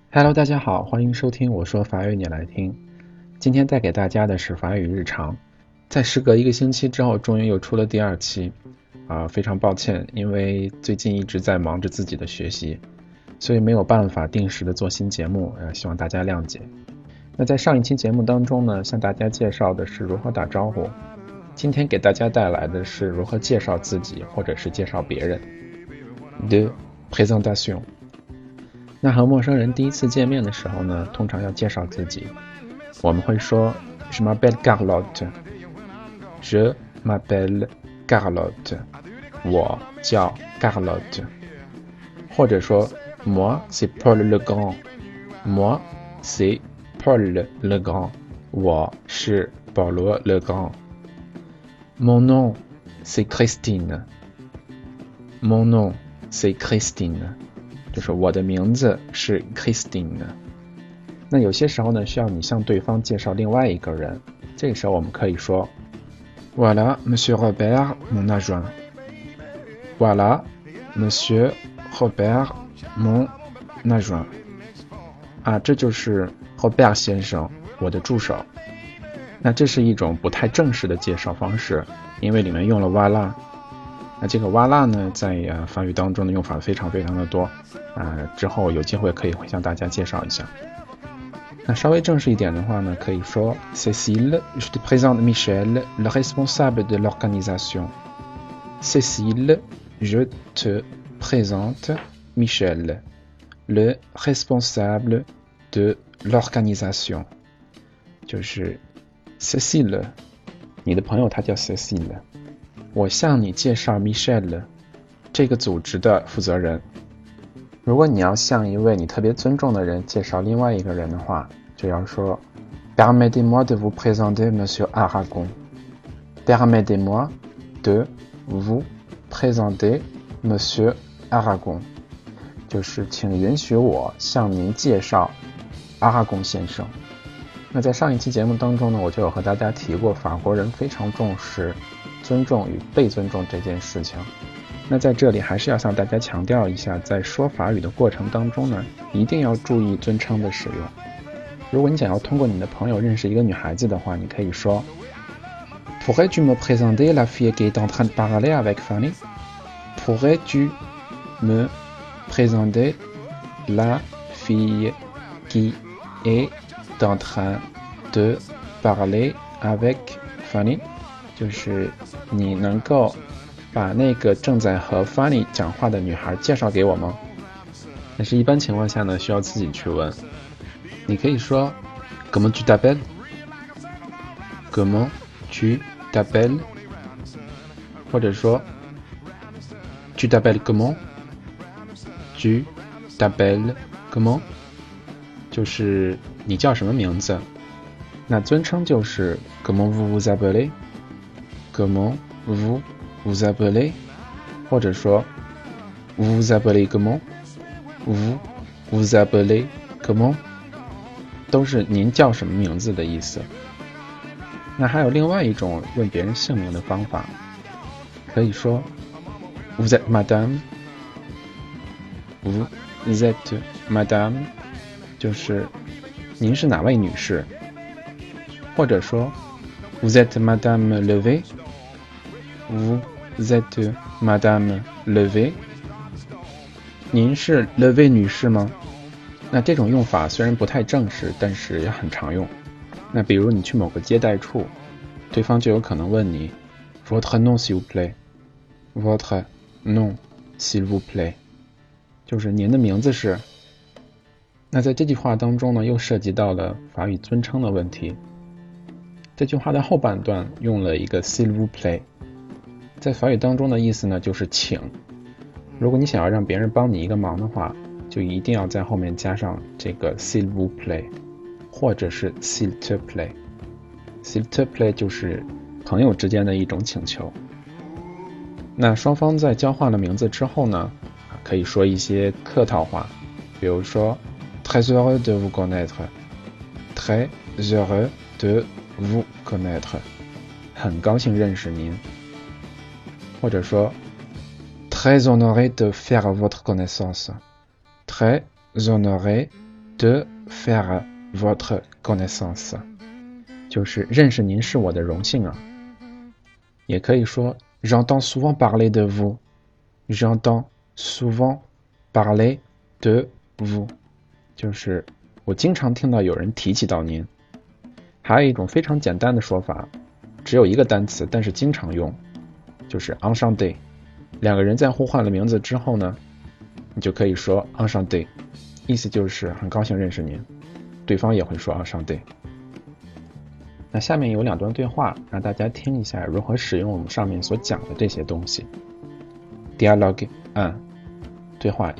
Hello，大家好，欢迎收听我说法语你来听。今天带给大家的是法语日常。在时隔1个星期之后，终于又出了第2期。非常抱歉，因为最近一直在忙着自己的学习，所以没有办法定时的做新节目，希望大家谅解。那在上一期节目当中呢，向大家介绍的是如何打招呼。今天给大家带来的是如何介绍自己或者是介绍别人。De présentation。那和陌生人第一次见面的时候呢，通常要介绍自己。我们会说 Je m'appelle Carlotte。 Je m'appelle Carlotte。 我叫 Carlotte。 或者说 Moi c'est Paul le Grand。 Moi c'est Paul le Grand。 我是保罗 le Grand。 Mon nom c'est Christine。 Mon nom c'est Christine。就是我的名字是 Christine。 那有些时候呢，需要你向对方介绍另外一个人，这个时候我们可以说 Voilà Monsieur Robert mon adjoint。 Voilà Monsieur Robert mon adjoint。 这就是 Robert 先生，我的助手。那这是一种不太正式的介绍方式，因为里面用了 Voilà。那这个哇啦呢，在法语当中的用法非常非常的多，之后有机会可以会向大家介绍一下。那稍微正式一点的话呢，可以说 Cécile, je te présente Michel, le responsable de l'organisation. Cécile, je te présente Michel, le responsable de l'organisation. 就是 Cécile， 你的朋友他叫 Cécile。我向你介绍 Michel， 这个组织的负责人。如果你要向一位你特别尊重的人介绍另外一个人的话，就要说 Permettez-moi de vous présenter Monsieur Aragon。 Permettez-moi de vous présenter Monsieur Aragon。 就是请允许我向您介绍阿拉贡先生。那在上一期节目当中呢，我就有和大家提过，法国人非常重视尊重与被尊重这件事情。那在这里还是要向大家强调一下，在说法语的过程当中呢，一定要注意尊称的使用。如果你想要通过你的朋友认识一个女孩子的话，你可以说 Pourrais-tu me présenter la fille qui est en train de parler avec Fanny? Pourrais-tu me présenter la fille qui est en train de parler avec Fanny？ 就是你能够把那个正在和 Fanny 讲话的女孩介绍给我吗？但是一般情况下呢，需要自己去问。你可以说 Comment tu t'appelles? Comment tu t'appelles? 或者说 Tu t'appelles comment? Tu t'appelles comment? 就是你叫什么名字？那尊称就是 Comment vous vous appelez? Comment vous vous appelez? 或者说 Vous vous appelez comment? Vous vous appelez comment? 都是您叫什么名字的意思。那还有另外一种问别人姓名的方法，可以说 Vous êtes madame? Vous êtes madame? 就是您是哪位女士？或者说 Vous êtes madame Levée? Vous êtes madame Levée? 您是 Levée 女士吗？那这种用法虽然不太正式，但是也很常用。那比如你去某个接待处，对方就有可能问你 Votre nom s'il vous plaît? Votre nom s'il vous plaît? 就是您的名字是。那在这句话当中呢，又涉及到了法语尊称的问题。这句话的后半段用了一个 s'il vous plaît， 在法语当中的意思呢就是请。如果你想要让别人帮你一个忙的话，就一定要在后面加上这个 s'il vous plaît， 或者是 s'il te plaît。 s'il te plaît 就是朋友之间的一种请求。那双方在交换了名字之后呢，可以说一些客套话，比如说 Très heureux de vous connaître. Très heureux de vous connaître. 很高兴认识您。或者说 Très honoré de faire votre connaissance. Très honoré de faire votre connaissance， 就是认识您是我的荣幸啊。也可以说 j'entends souvent parler de vous， j'entends souvent parler de vous， 就是我经常听到有人提起到您。还有一种非常简单的说法，只有一个单词，但是经常用，就是 enchanté。两个人在互换了名字之后呢，你就可以说 enchanté， 意思就是很高兴认识您，对方也会说 enchanté。那下面有2段对话，让大家听一下如何使用我们上面所讲的这些东西。Dialogue 1，对话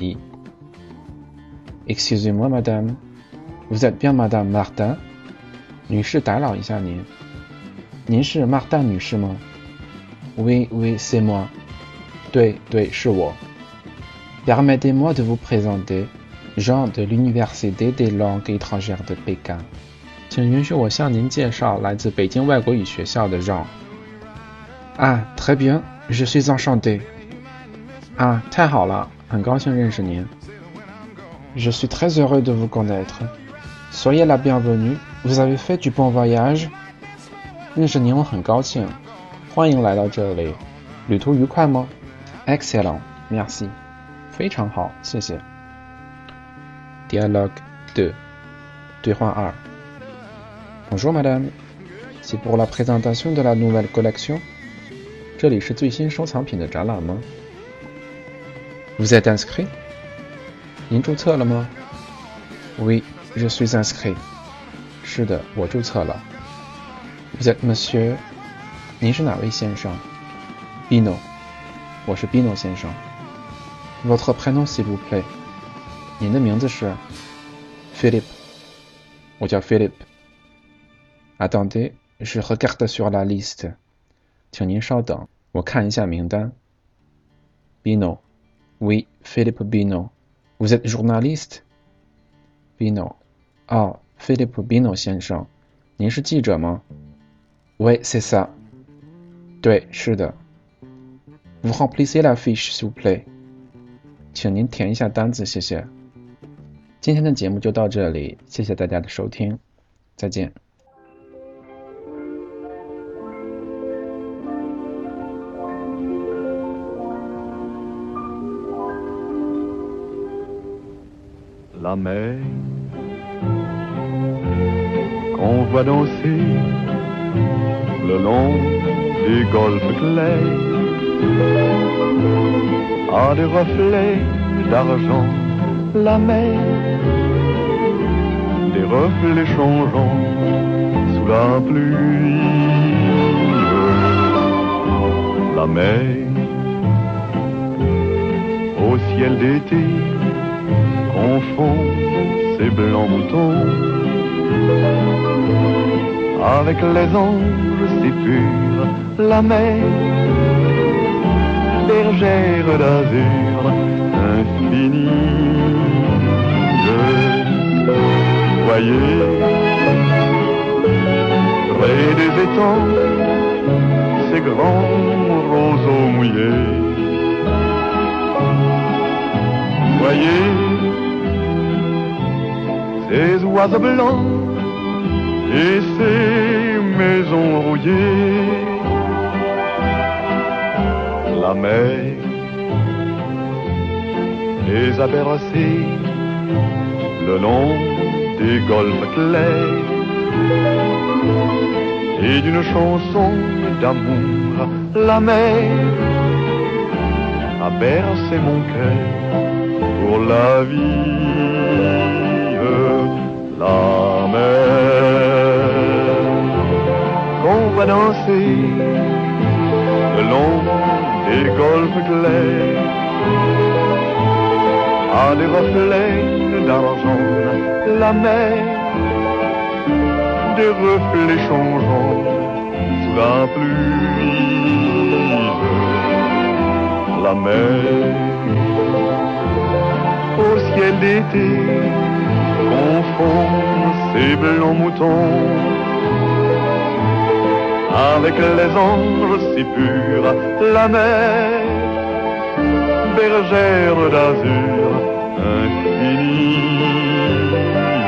1。Excusez-moi, madame, vous êtes bien madame Martin？ 女士，打扰一下您，您是 Martin 女士吗？ Oui, oui, c'est moi。 对，是我。Permettez-moi de vous présenter Jean de l'Université des langues étrangères de Pékin。请允许我向您介绍来自北京外国语学校的 Jean。 Ah, très bien, je suis enchanté。 啊，太好了，很高兴认识您。Je suis très heureux de vous connaître. Soyez la bienvenue, vous avez fait du bon voyage。 认识您我很高兴，欢迎来到这里，旅途愉快吗？ Excellent, merci。 非常好，谢谢。Dialogue 2，对话2。Bonjour madame, c'est pour la présentation de la nouvelle collection。 这里是最新收藏品的展览吗？ Vous êtes inscrit？ 您注册了吗？ Oui, je suis inscrit。 是的，我注册了。Vous êtes monsieur？ 您是哪位先生？ Bino， 我是 Bino 先生。Votre prénom s'il vous plaît？ 您的名字是？ Philippe， 我叫 Philippe。Attendez, je regarde sur la liste。 请您稍等，我看一下名单。Bino, oui, Philippe Bino. Vous êtes journaliste? Bino, 哦，Philippe Bino 先生，您是记者吗？ Oui, c'est ça。 对，是的。Vous remplissez la fiche, s'il vous plaît。 请您填一下单子，谢谢。今天的节目就到这里，谢谢大家的收听，再见。 La mer qu'on voit danser le long des golfes clairs a des reflets d'argent. La mer, des reflets changeants sous la pluie. La mer au ciel d'été confond ses blancs moutons avec les anges si purs. La mer, bergère d'azur infinie. Voyez, près des étangs, ces grands roseaux mouillés. Voyez, ces oiseaux blancs et ces maisons rouillées. La mer les a bercés le long des golfes clairs et d'une chanson d'amour. La mer a bercé mon cœur pour la vie. La mer qu'on va danser le long des golfes clairs a des reflets d'argent. La mer, des reflets changeants sous la pluie. La mer au ciel d'été confond ses blancs moutons avec les anges si purs. La mer, bergère d'azur infinie.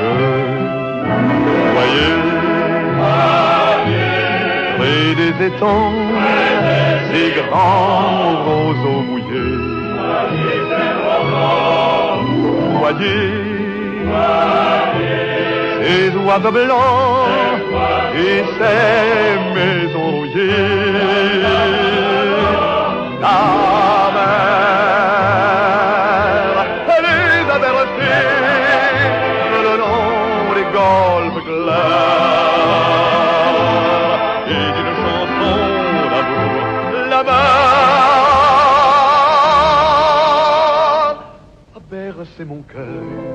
et des étangs, ces grands roseaux mouillés. Voyez, ces oiseaux blancs et ces maisons rouillées. La mer, elle les a bercés le long des golfes clairs et d'une chanson d'amour là-bas a bercé mon cœur.